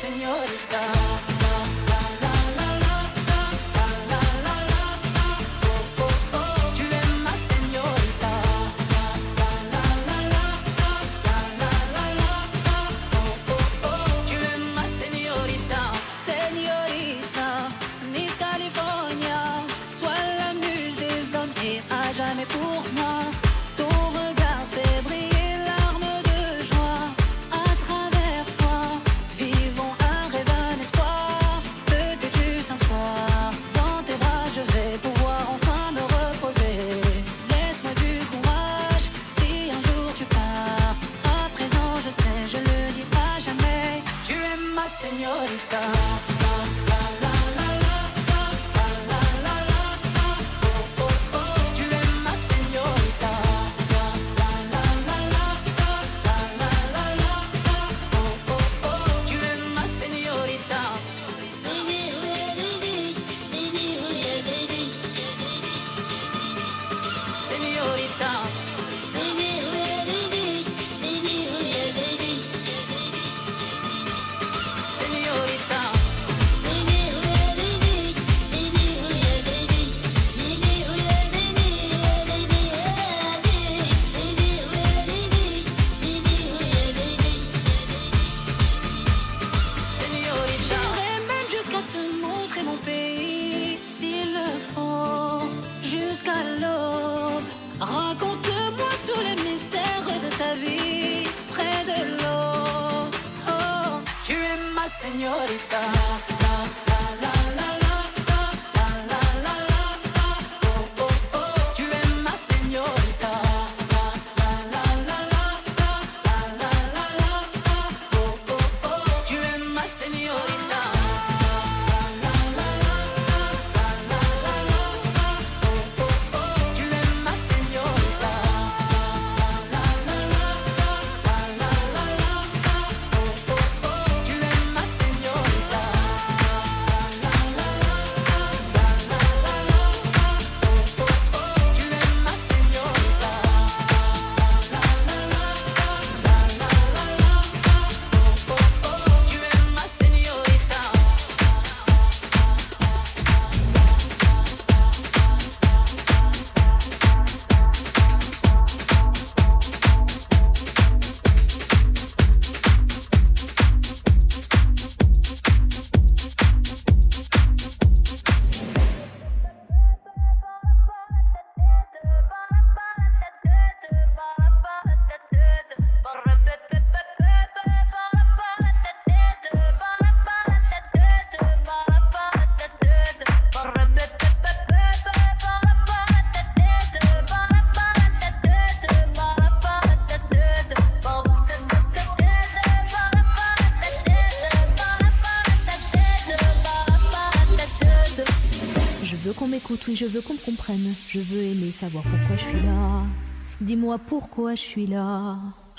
Oui, je veux qu'on me comprenne. Je veux aimer, savoir pourquoi je suis là. Dis-moi pourquoi je suis là.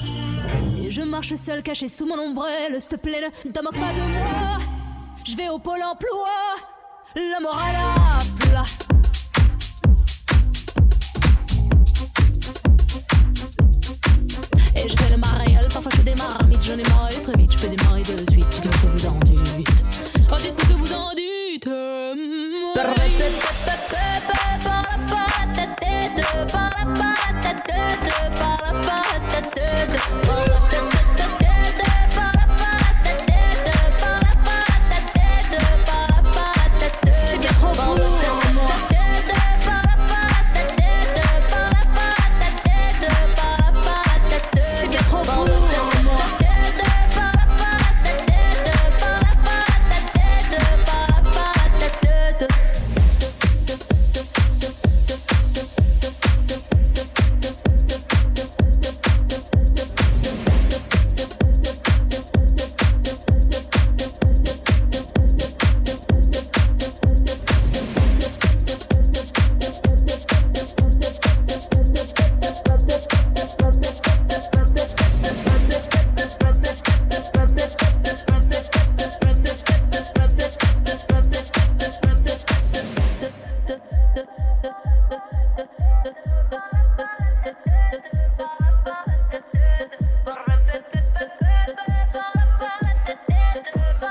Et je marche seule, cachée sous mon ombrelle. S'il te plaît, ne te moque pas de moi. Je vais au pôle emploi. La morale à plat. Et je fais le mariole. Parfois je démarre vite, j'en ai marre très vite. Je peux démarrer de suite. Dites-moi ce que vous en dites. Oh, dites-moi ce que vous en dites. C'est bien trop pour moi. C'est bien trop pour moi.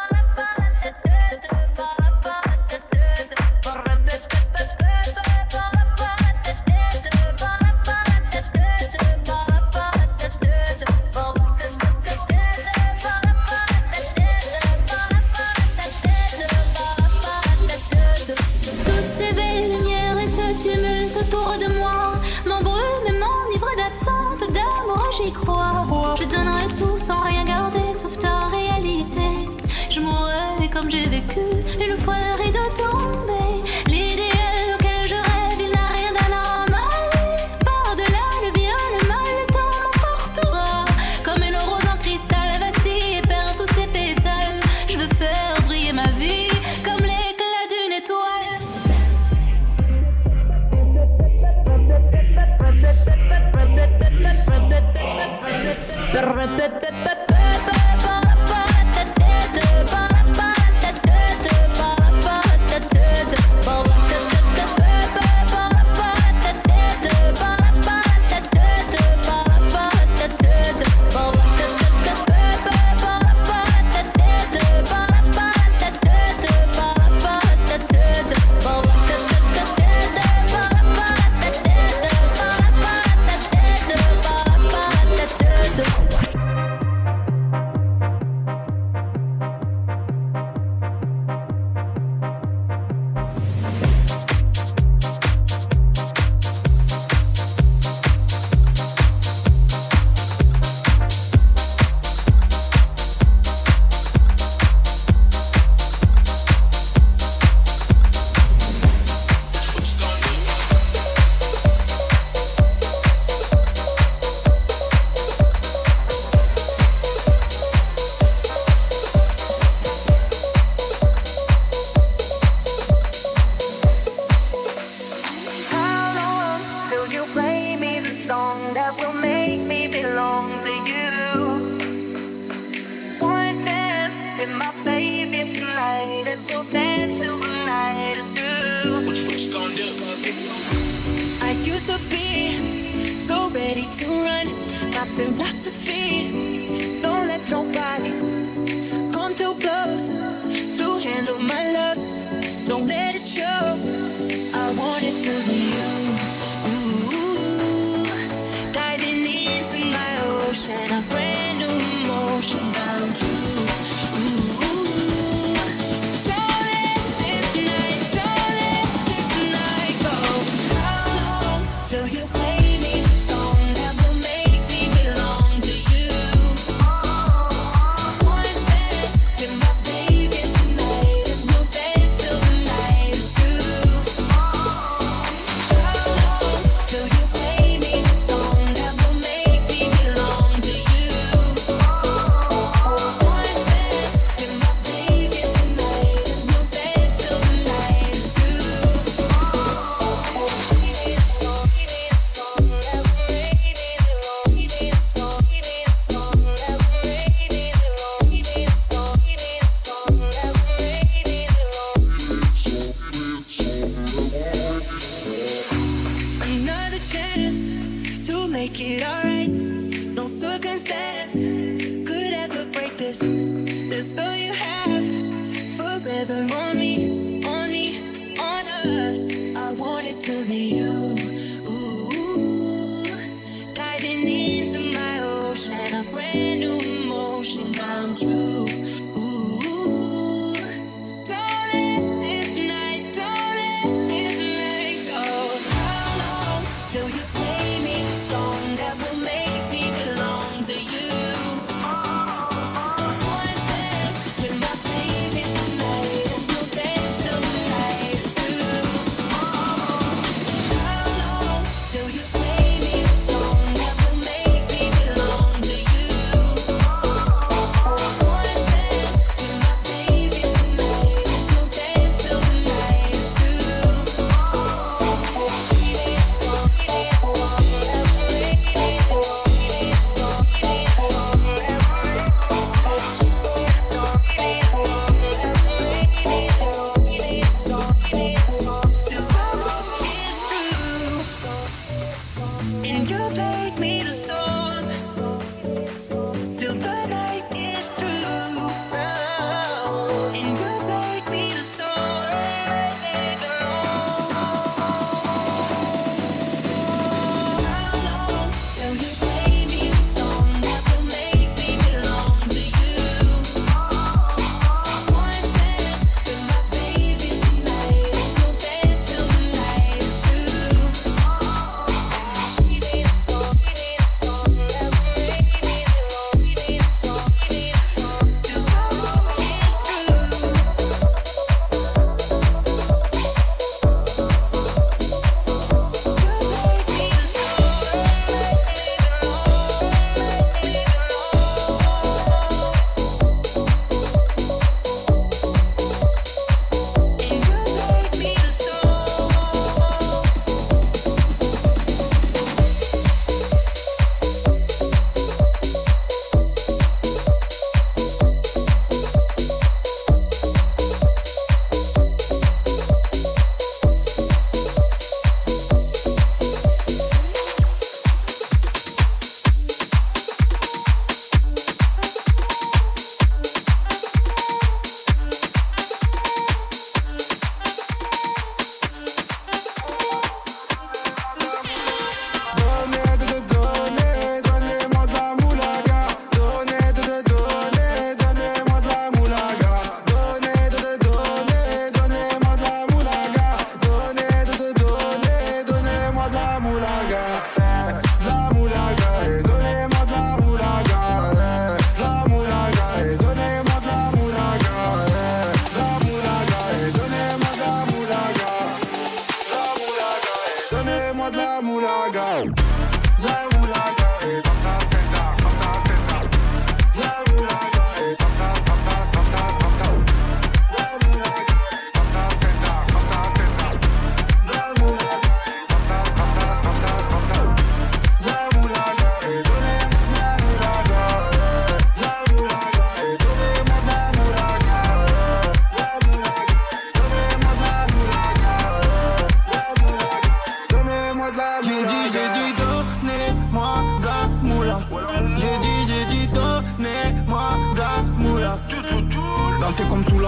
J'y crois, je donnerai tout sans rien garder sauf ta réalité. Je mourrai comme j'ai vécu une fois le rideau tombé. L'idéal auquel je rêve, il n'a rien d'anormal. Par-delà le bien, le mal, le temps m'emportera. Comme une rose en cristal vacille et perd tous ses pétales. Je veux faire briller ma vie comme l'éclat d'une étoile.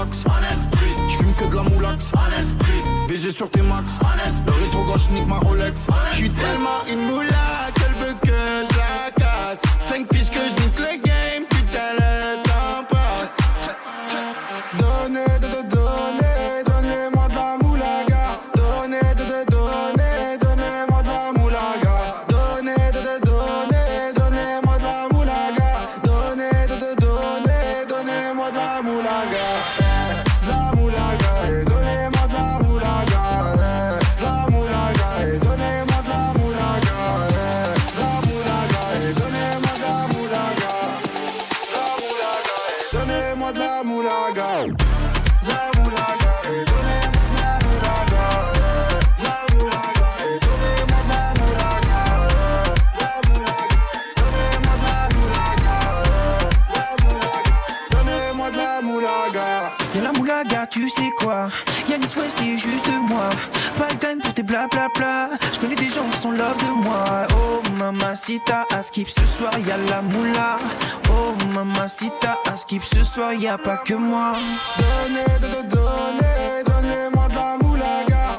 relax. Tu fumes que de la moulax. BG sur tes max. Le rétro gauche nique ma Rolex. J'suis tellement une moula qu'elle veut que je la casse. 5 piges que je nique le game, putain le temps passe. Donnez-moi de la moulaga. Donnez-moi de la moulaga. Donnez-moi de la moulaga. Donnez-moi de la moulaga. La moulaga, donnez-moi de la moulaga. La moulaga, donnez-moi de la moulaga. La moulaga, donnez-moi de la moulaga. La moulaga, donnez-moi de la moulaga. La moulaga, donnez-moi de la moulaga. La moulaga, donnez-moi de la moulaga. La moulaga, donnez-moi de la moulaga. La moulaga, donnez-moi de la moulaga. Y'a la moulaga, tu sais quoi? Yanis West c'est juste moi. Pas le time pour tes blablabla. J'connais des gens qui sont love de moi. Oh mamacita, à skip ce soir y'a la moula. Oh mamacita, à skip ce soir y'a pas que moi. Donnez-moi de la moulaga.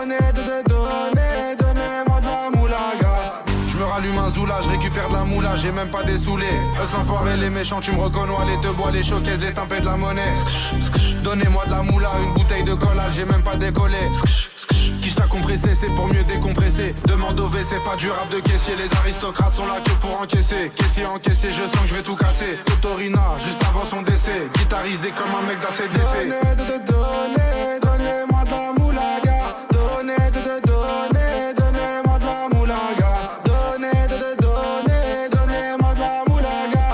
Donnez-moi de la moulaga. J'me rallume un zoula, j'récupère de la moula, j'ai même pas des saoulés. Eux l'enfoiré, les méchants, tu me reconnais, les deux bois, les showcases, les tempêtes de la monnaie. Donnez-moi de la moula, une bouteille de collal, j'ai même pas décollé. Qui t'a compressé, c'est pour mieux décompresser. Demande au WC, pas du rap de caissier. Les aristocrates sont là que pour encaisser. Caissier encaissé, je sens que je vais tout casser. Totorina, juste avant son décès. Guitarisé comme un mec d'ACDC. Donnez-moi de la moulaga. Donnez-moi de la moulaga. Donnez-moi de la moulaga.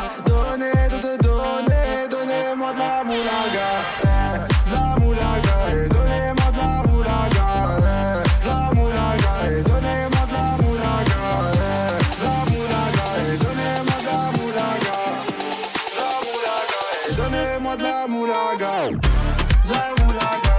Donnez-moi de la moulaga. La moulaga, donnez-moi de la moulaga. La moulaga, donnez-moi de la moulaga. La moulaga, donnez-moi de la moulaga. La moulaga, donnez-moi de la moulaga. La moulaga,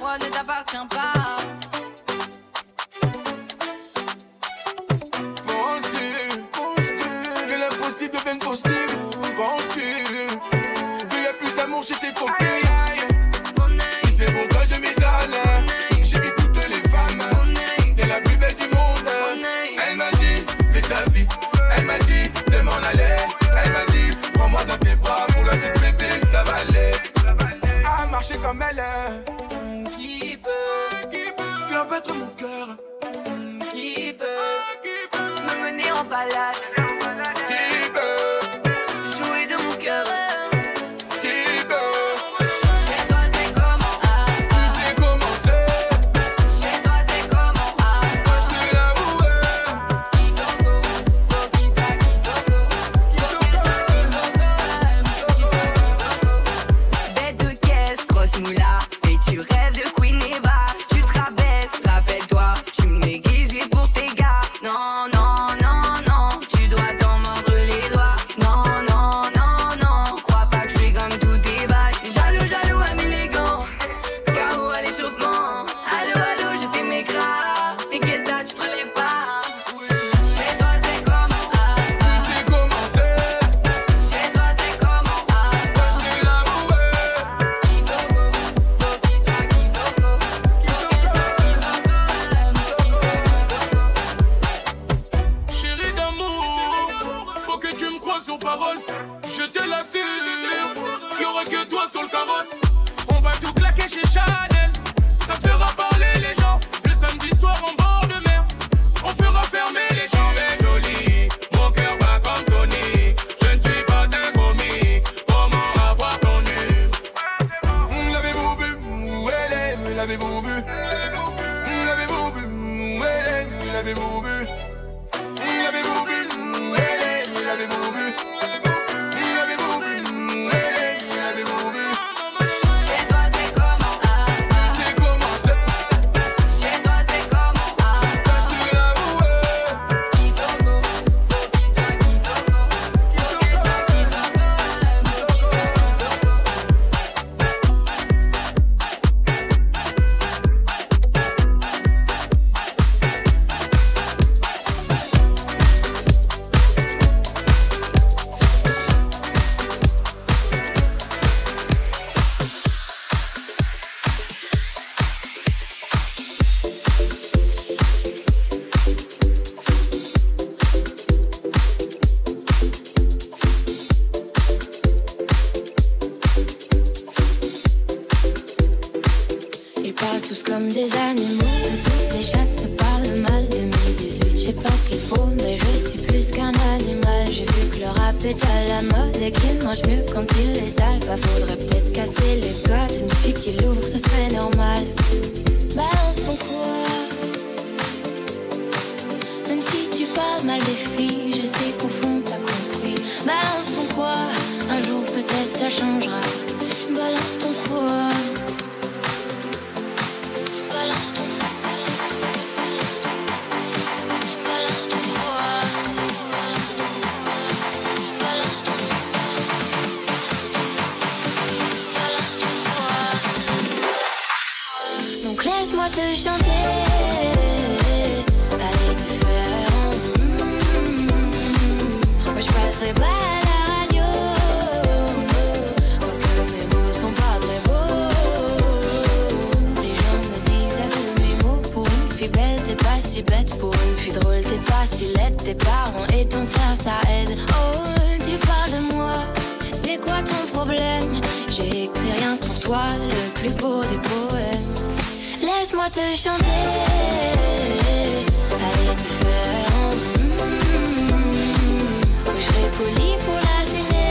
moi ne t'appartient pas. Que l'impossible devienne possible. Penses-tu qu'il y a plus d'amour chez tes copines? Si c'est pour toi je m'isole. J'ai vu toutes les femmes. T'es la plus belle du monde. Elle m'a dit fais ta vie. Elle m'a dit de m'en aller. Elle m'a dit prends-moi dans tes bras. Pour la petite bébé ça va aller. À marcher comme elle. Qui peut faire battre mon cœur. Qui peut me mener en balade? Qui peut jouer de mon cœur? Qui peut Chez toi c'est comment? Tu sais comment c'est. Chez toi c'est comment? Moi je te l'avoue. Kitoko, faut qu'il soit Kitoko. Faut qu'elle soit Kitoko. Bête de caisse, grosse moula. Et tu rêves de Queen Eva. Tu te rabaisses, rappelle-toi. Tu me négligais pour tes gars. Non, non, non, non. Tu dois t'en mordre les doigts. Non, non, non, non. Crois pas que je suis comme tous tes bails. Jaloux, jaloux, ami élégant. KO à l'échauffement. Allô, allô, je t'aimais grave. Et qu'est-ce que t'as, tu te relèves pas? Chez toi c'est comment? Tu sais comment c'est. Chez toi c'est comment? Moi je te l'avoue. Kitoko, faut qu'il soit Kitoko. Faut qu'elle soit Kitoko. Chérie d'amour, faut que tu me crois sur parole. Je te l'assure, qu'il y aura que toi sur le carrosse. On va tout claquer chez Chanel, ça fera parler les gens. Le samedi soir en bord de mer, on fera fermer les champs. Tu es jolie, mon cœur bat comme Sony. Je ne suis pas un commis, comment avoir ton nu? L'avez-vous vu? Où elle est? L'avez-vous vu? L'avez-vous vu? Où elle est? L'avez-vous vu? L'avez-vous vu? Où elle est? L'avez-vous vu? L'avez-vous vu? Où elle est? L'avez-vous vu? Chez toi c'est comment? Tu sais comment c'est. Chez toi c'est comment? Moi je te l'avoue. Kitoko, faut qu'il soit Kitoko. Faut qu'elle soit Kitoko. Faut qu'il soit Ils parlent tous comme des animaux, de toutes les chattes se parlent mal. 2018, je sais pas ce qu'il faut, mais je suis plus qu'un animal. J'ai vu que le rap est à la mode et qu'il mange mieux quand il est sale. Bah faudrait peut-être casser les codes, une fille qui l'ouvre, ce serait normal. Balance ton quoi, même si tu parles mal des filles, je sais qu'au fond t'as compris. Balance ton quoi, un jour peut-être ça changera. Balance ton quoi. Balance ton quoi. Balance ton quoi. Donc laisse-moi te chanter. Allez te faire moi je passerai pas à la radio, parce que mes mots sont pas très beaux. Les gens me disent que mes mots, pour une fille belle t'es pas si bête. Pour une fille drôle t'es pas si laide. Tes parents et ton frère ça aide. Oh tu parles de moi, c'est quoi ton problème? J'ai écrit rien que pour toi, le plus beau des poèmes. Laisse-moi te chanter. Allez te faire je serai poli pour la télé,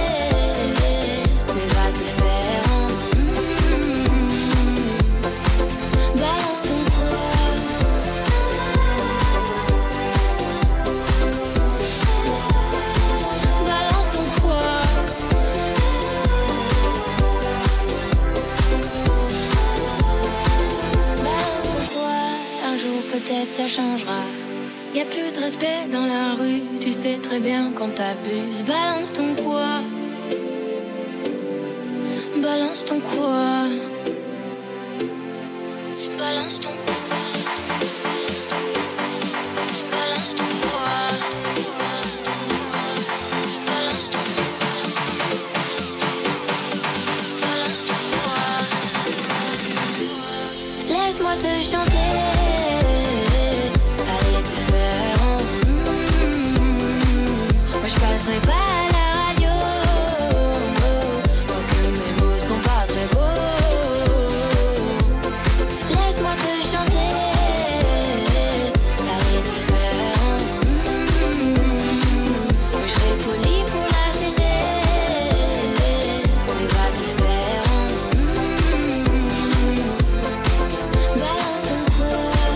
mais va te faire balance ton quoi. Balance ton quoi. Balance ton quoi. Un jour peut-être ça changera. Y'a plus de respect dans la rue, tu sais très bien quand t'abuses. Balance ton quoi. Balance ton quoi. balance ton cou. Balance ton quoi. Balance ton quoi. Laisse-moi te chanter. Allez te faire en moi je passerai pas à la radio parce que mes mots sont pas très beaux. Laisse-moi te chanter. Allez te faire en moi je serai poli pour la télé. Mais va te faire en balance ton quoi.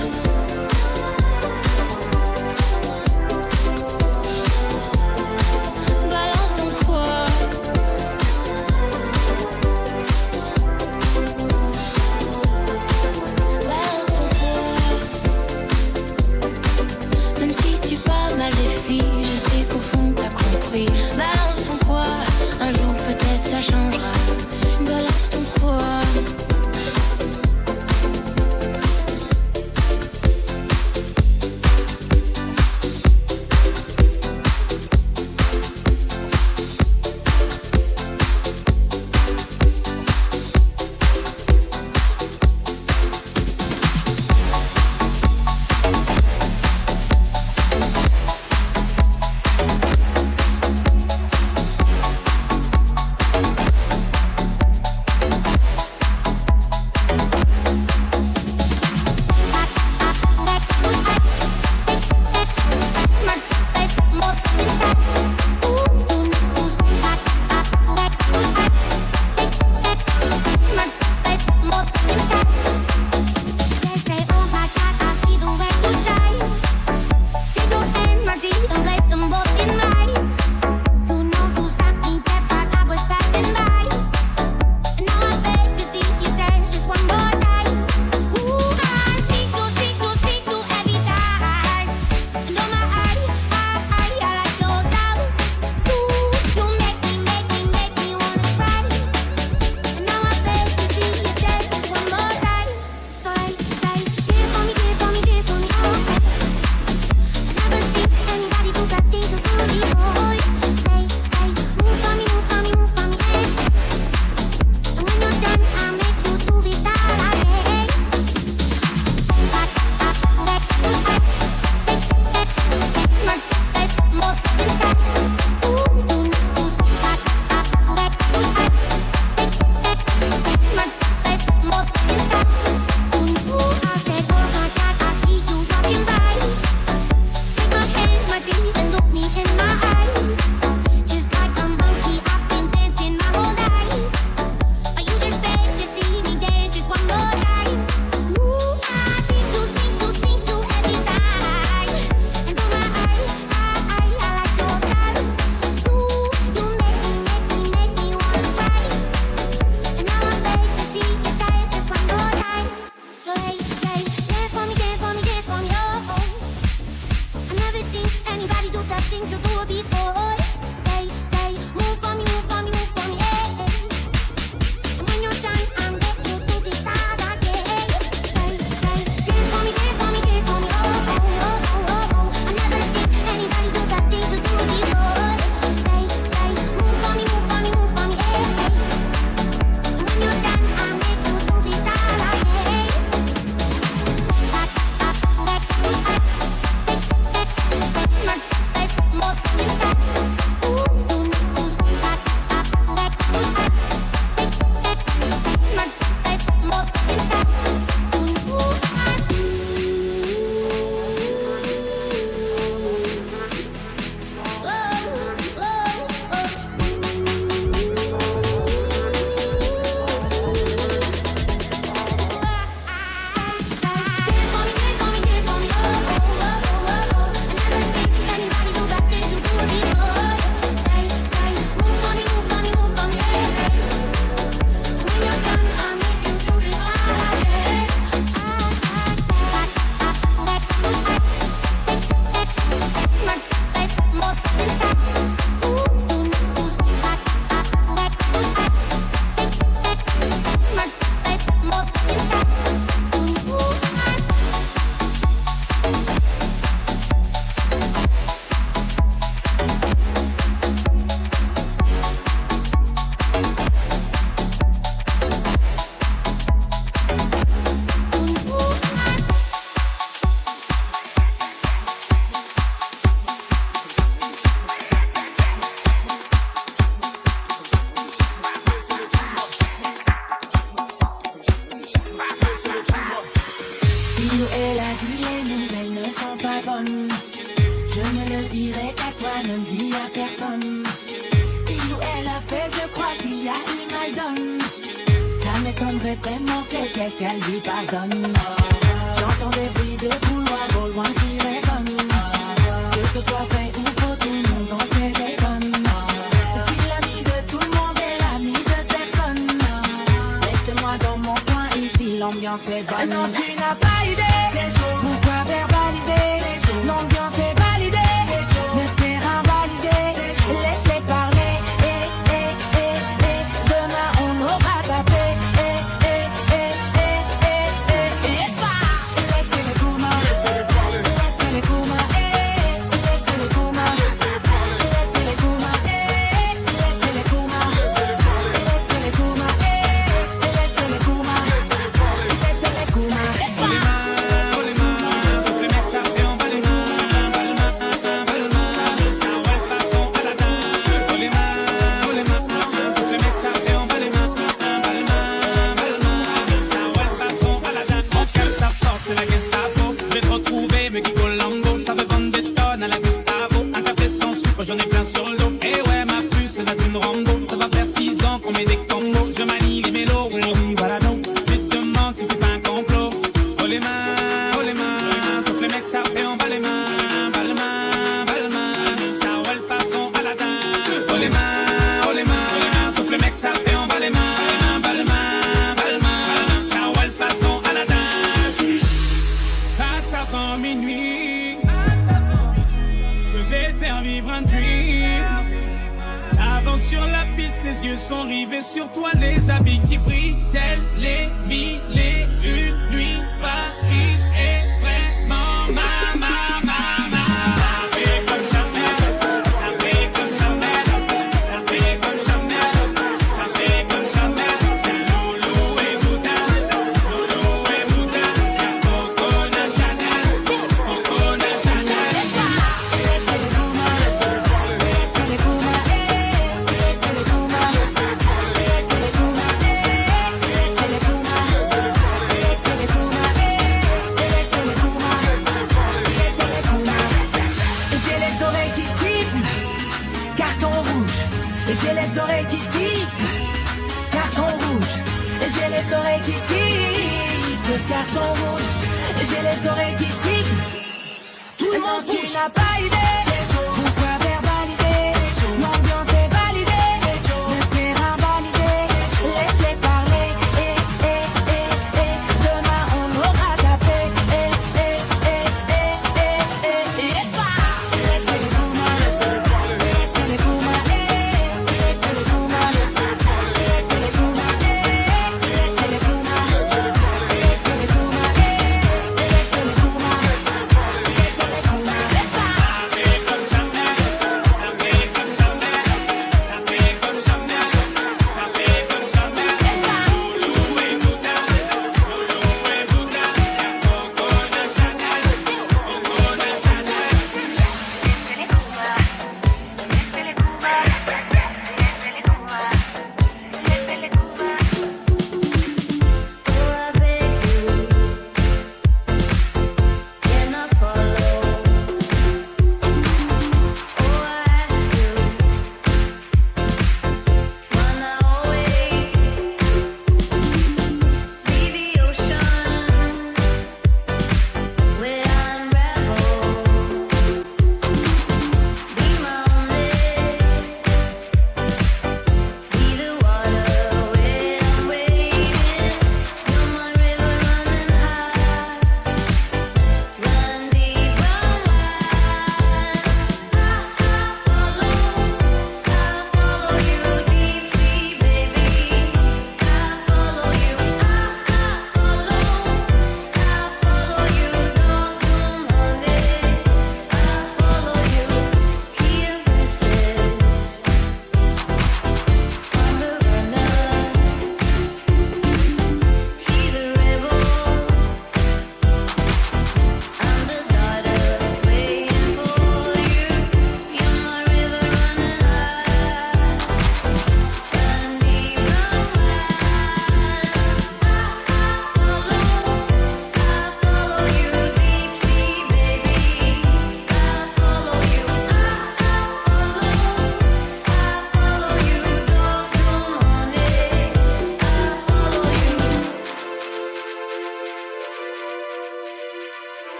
m'étonnerait vraiment que quelqu'un lui pardonne. J'entends des bruits de couloirs au loin qui résonnent. Que ce soit vrai ou faux, tout le monde en fait des tonnes. Si l'ami de tout le monde est l'ami de personne, laissez-moi dans mon coin, ici l'ambiance est bonne. Non, tu n'as pas idée, pourquoi verbaliser? L'ambiance est validée, le terrain validé. Laisse-les parler, demain on aura tapé. Laissez-les Kouma, laissez-les Kouma, laissez-les Kouma, laissez-les Kouma, laissez-les Kouma, laissez-les Kouma, laissez-les Kouma, laissez-les Kouma. Oh les mains, sauf les mecs ça fait en bas les mains, ça ouais façon Aladdin. Oh les mains, sauf les mecs ça fait en bas les mains, ça ouais façon Aladdin. On casse ta porte, c'est la Gestapo. Je vais te retrouver, me Kiko Lambo. Ça veut vendre des tonnes à la Gustavo. Un café sans sucre, j'en ai plein sur le dos. Et ouais, ma puce, c'est la thune Rambo. Ça va faire 6 ans qu'on met des combos. Je manie les mélos, oui, voilà non. Tu te demandes si c'est pas un complot. Oh les mains, sauf les mecs ça fait en bas les mains, ça ouais façon Aladdin. Oh les mains, sauf les mecs ça fait en bas les mains, ça ouais façon Aladdin. Passe avant minuit, je vais te faire vivre un dream. Avance sur la piste, les yeux sont rivés sur toi, les habits qui brillent, tels les mille et une nuits. Paris est vraiment ma. Ça fait comme jamais, ça fait comme jamais, ça fait comme jamais, ça fait comme jamais. Loulou et Bouddha, y'a Coco na Chanel, Coco na Chanel. Laissez-les Kouma, laissez-les Kouma, laissez-les Kouma, laissez-les Kouma, laissez-les Kouma, laissez-les Kouma, laissez-les Kouma. J'ai les oreilles qui sifflent, carton rouge. J'ai les oreilles qui sifflent, carton rouge. J'ai les oreilles qui sifflent, carton rouge. J'ai les oreilles qui sifflent. Tout le monde tu n'as pas idée. Pourquoi verbaliser? L'ambiance est validée, le terrain validé. Laisse-les parler, demain on aura tapé. Laissez-les Kouma, laissez-les Kouma, laissez-les Kouma, laissez-les Kouma, laissez-les Kouma, laissez-les Kouma, laissez-les Kouma.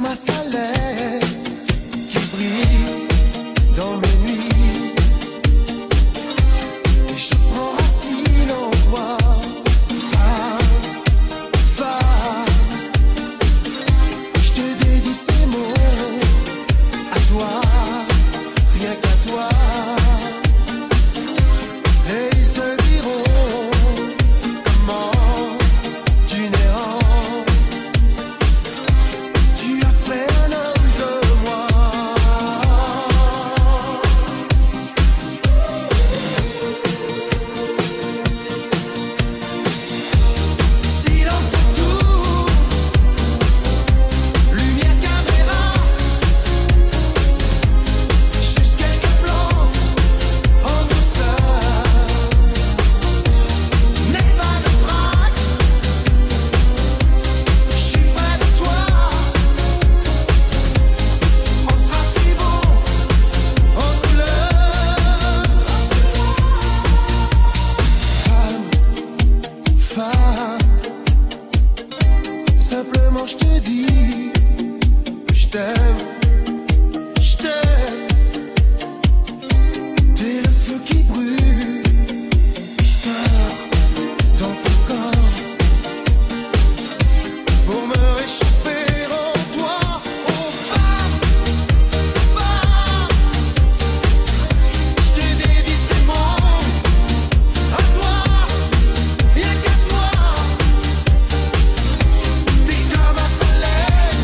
un soleil qui brille dans mes nuits. Et je prends racine en toi, femme. Je te dédie ces mots à toi, rien qu'à toi. Et ils te diront comment tu n'errant. Tu as fait un homme de moi. Silence à tout, lumière, caméra, juste quelques plans en douceur, mais pas de trac. Je suis près de toi, on sera si beau en couleur. Femme, simplement je te dis que je t'aime, je t'aime. T'es le feu qui brûle, je dors dans ton corps pour me réchauffer en toi. Oh femme, je te dédie ces mots à toi, rien qu'à toi. T'es comme un soleil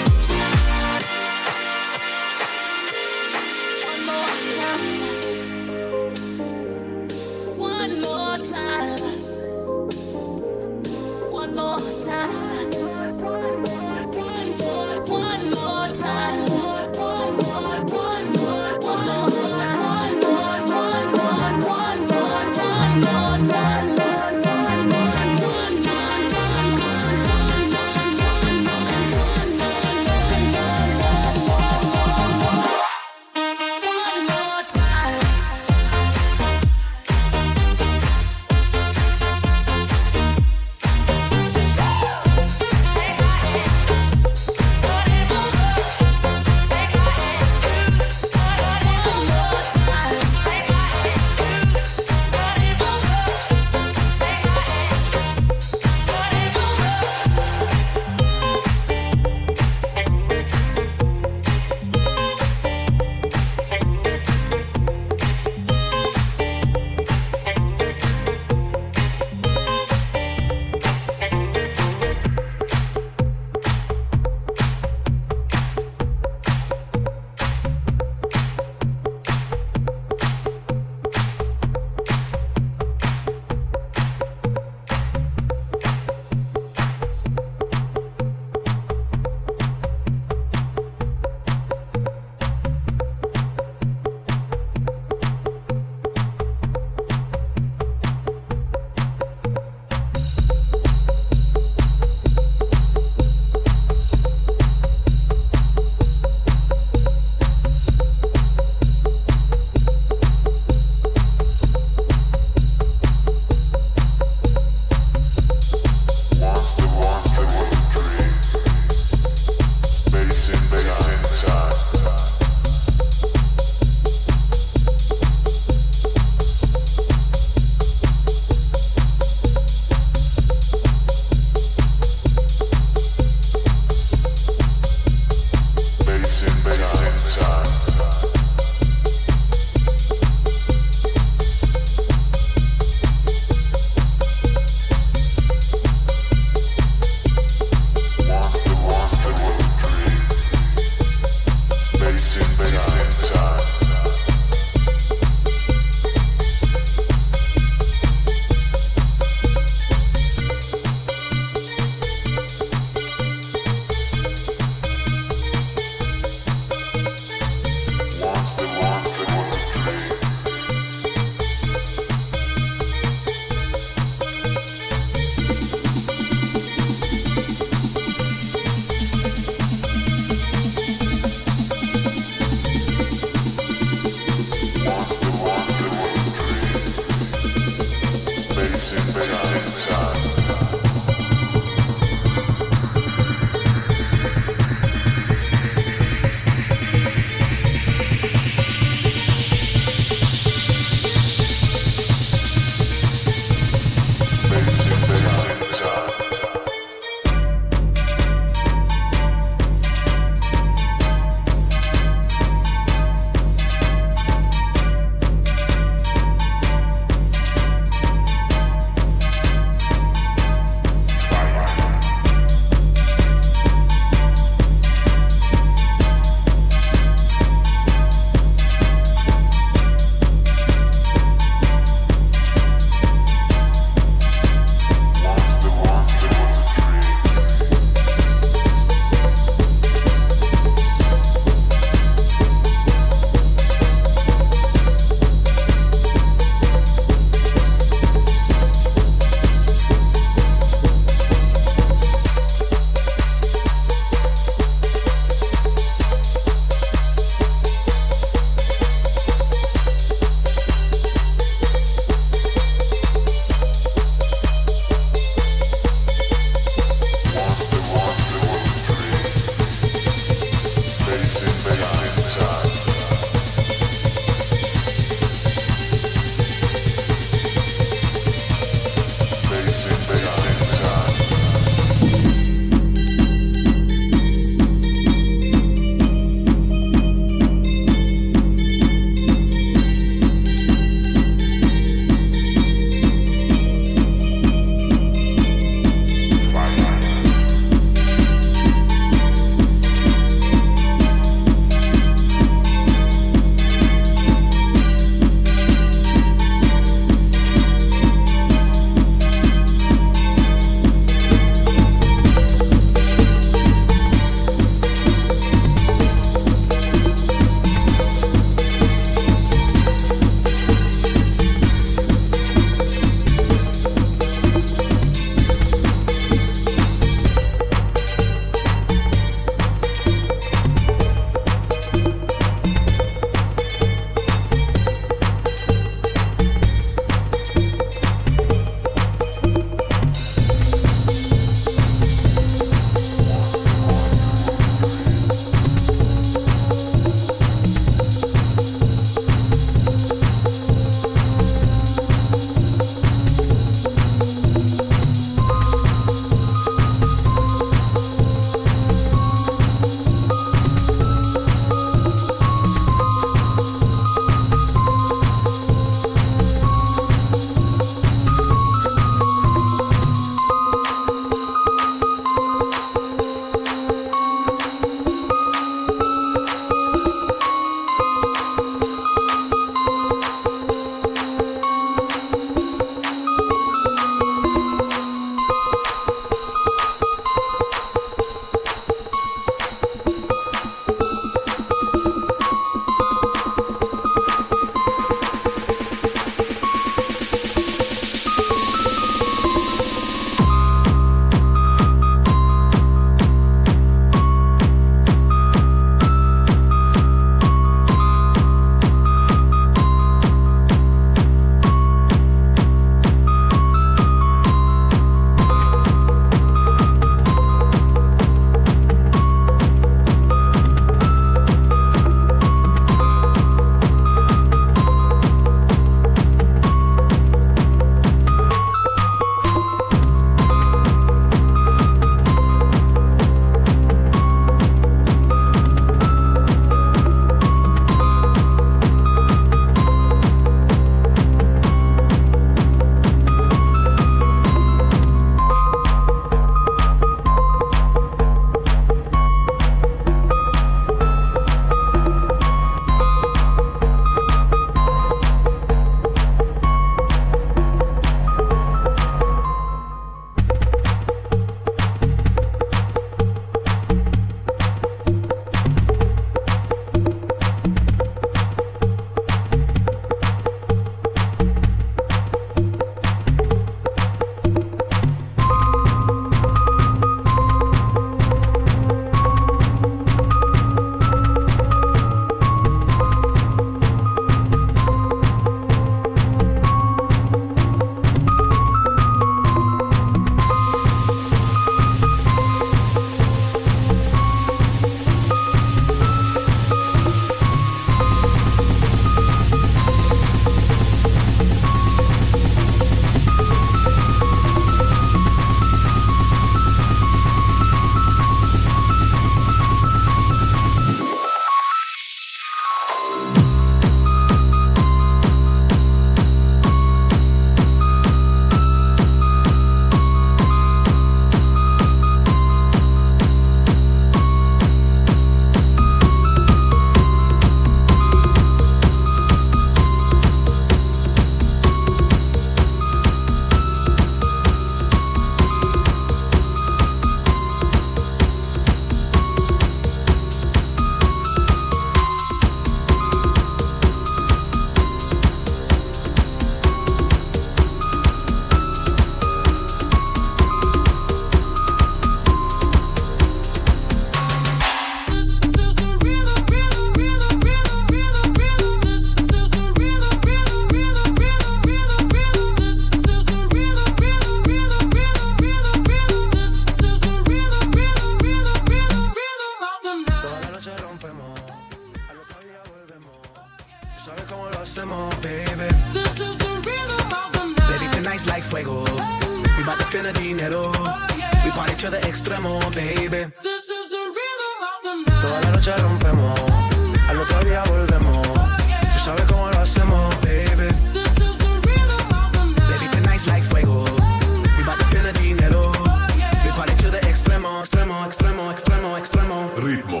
extremo, baby. This is the rhythm of the night. Toda la noche rompemos, al otro día volvemos. Tú sabes cómo lo hacemos, baby. This is the rhythm of the night. Baby, tonight's like fuego. We bout to spend the dinero. We party to the extremo, extremo, extremo, extremo, extremo. Ritmo.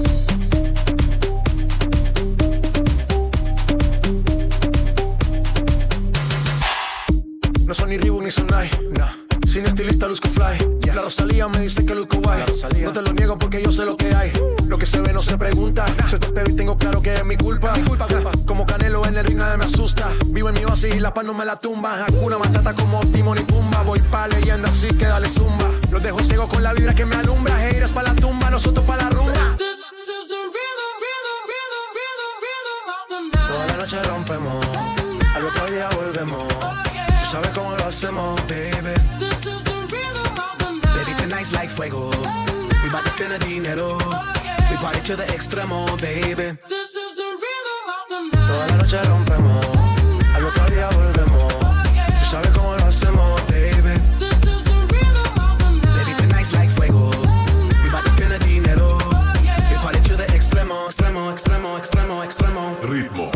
No son ni Reebok ni Sonai, nah. Sin estilista luzco fly, yes. La Rosalía me dice que luzco guay. No te lo niego porque yo sé lo que hay. Lo que se ve no se pregunta. Yo te espero y tengo claro que es mi culpa. Como Canelo en el ring nadie me asusta. Vivo en mi oasis y la paz no me la tumba. Hakuna Matata como Timon y Pumba. Voy pa' leyenda así que dale zumba. Los dejo ciego con la vibra que me alumbra. Haters pa' la tumba, nosotros pa' la rumba. This is the rhythm, rhythm, rhythm, rhythm, rhythm of the night. Toda la noche rompemos, al otro día volvemos. Tú sabes cómo lo hacemos, baby. This is the rhythm of the night. Baby, tonight's like fuego. We bout to spend the dinero. We party to the extremo, baby. This is the rhythm of the night. Toda la noche rompemos, al otro día volvemos. Tú sabes cómo lo hacemos, baby. This is the rhythm of the night. Baby, tonight's like fuego. We bout to spend the dinero. We party to the extremo, extremo, extremo, extremo, extremo. Ritmo.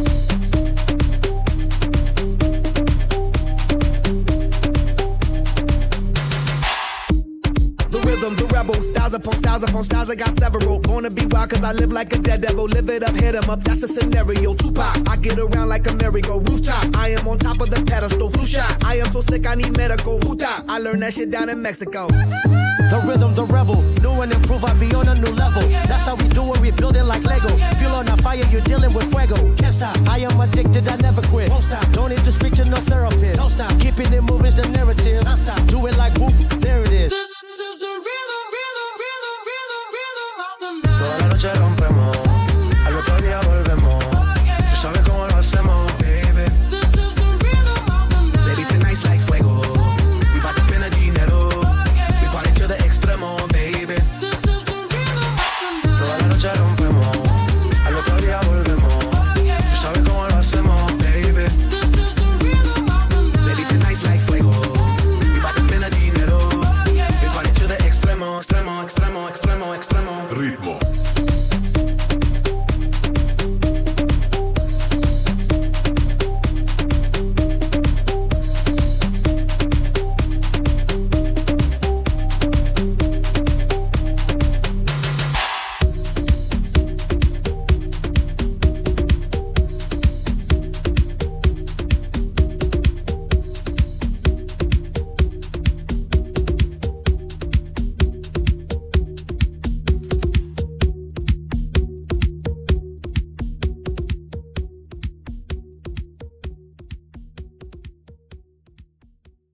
The rebel, styles upon styles upon styles, I got several. Born to be wild cause I live like a dead devil. Live it up, hit 'em up, that's a scenario. Tupac, I get around like a merry-go rooftop. I am on top of the pedestal, flu shot. I am so sick, I need medical. Huta, I learned that shit down in Mexico. The rhythm, the rebel, new and improve, I be on a new level. That's how we do it, we build it like Lego. Feel on a fire, you're dealing with fuego. Can't stop, I am addicted, I never quit. Won't stop, don't need to speak to no therapist. Don't stop, keeping it moving's the narrative. Don't stop, do it like whoop, there it is.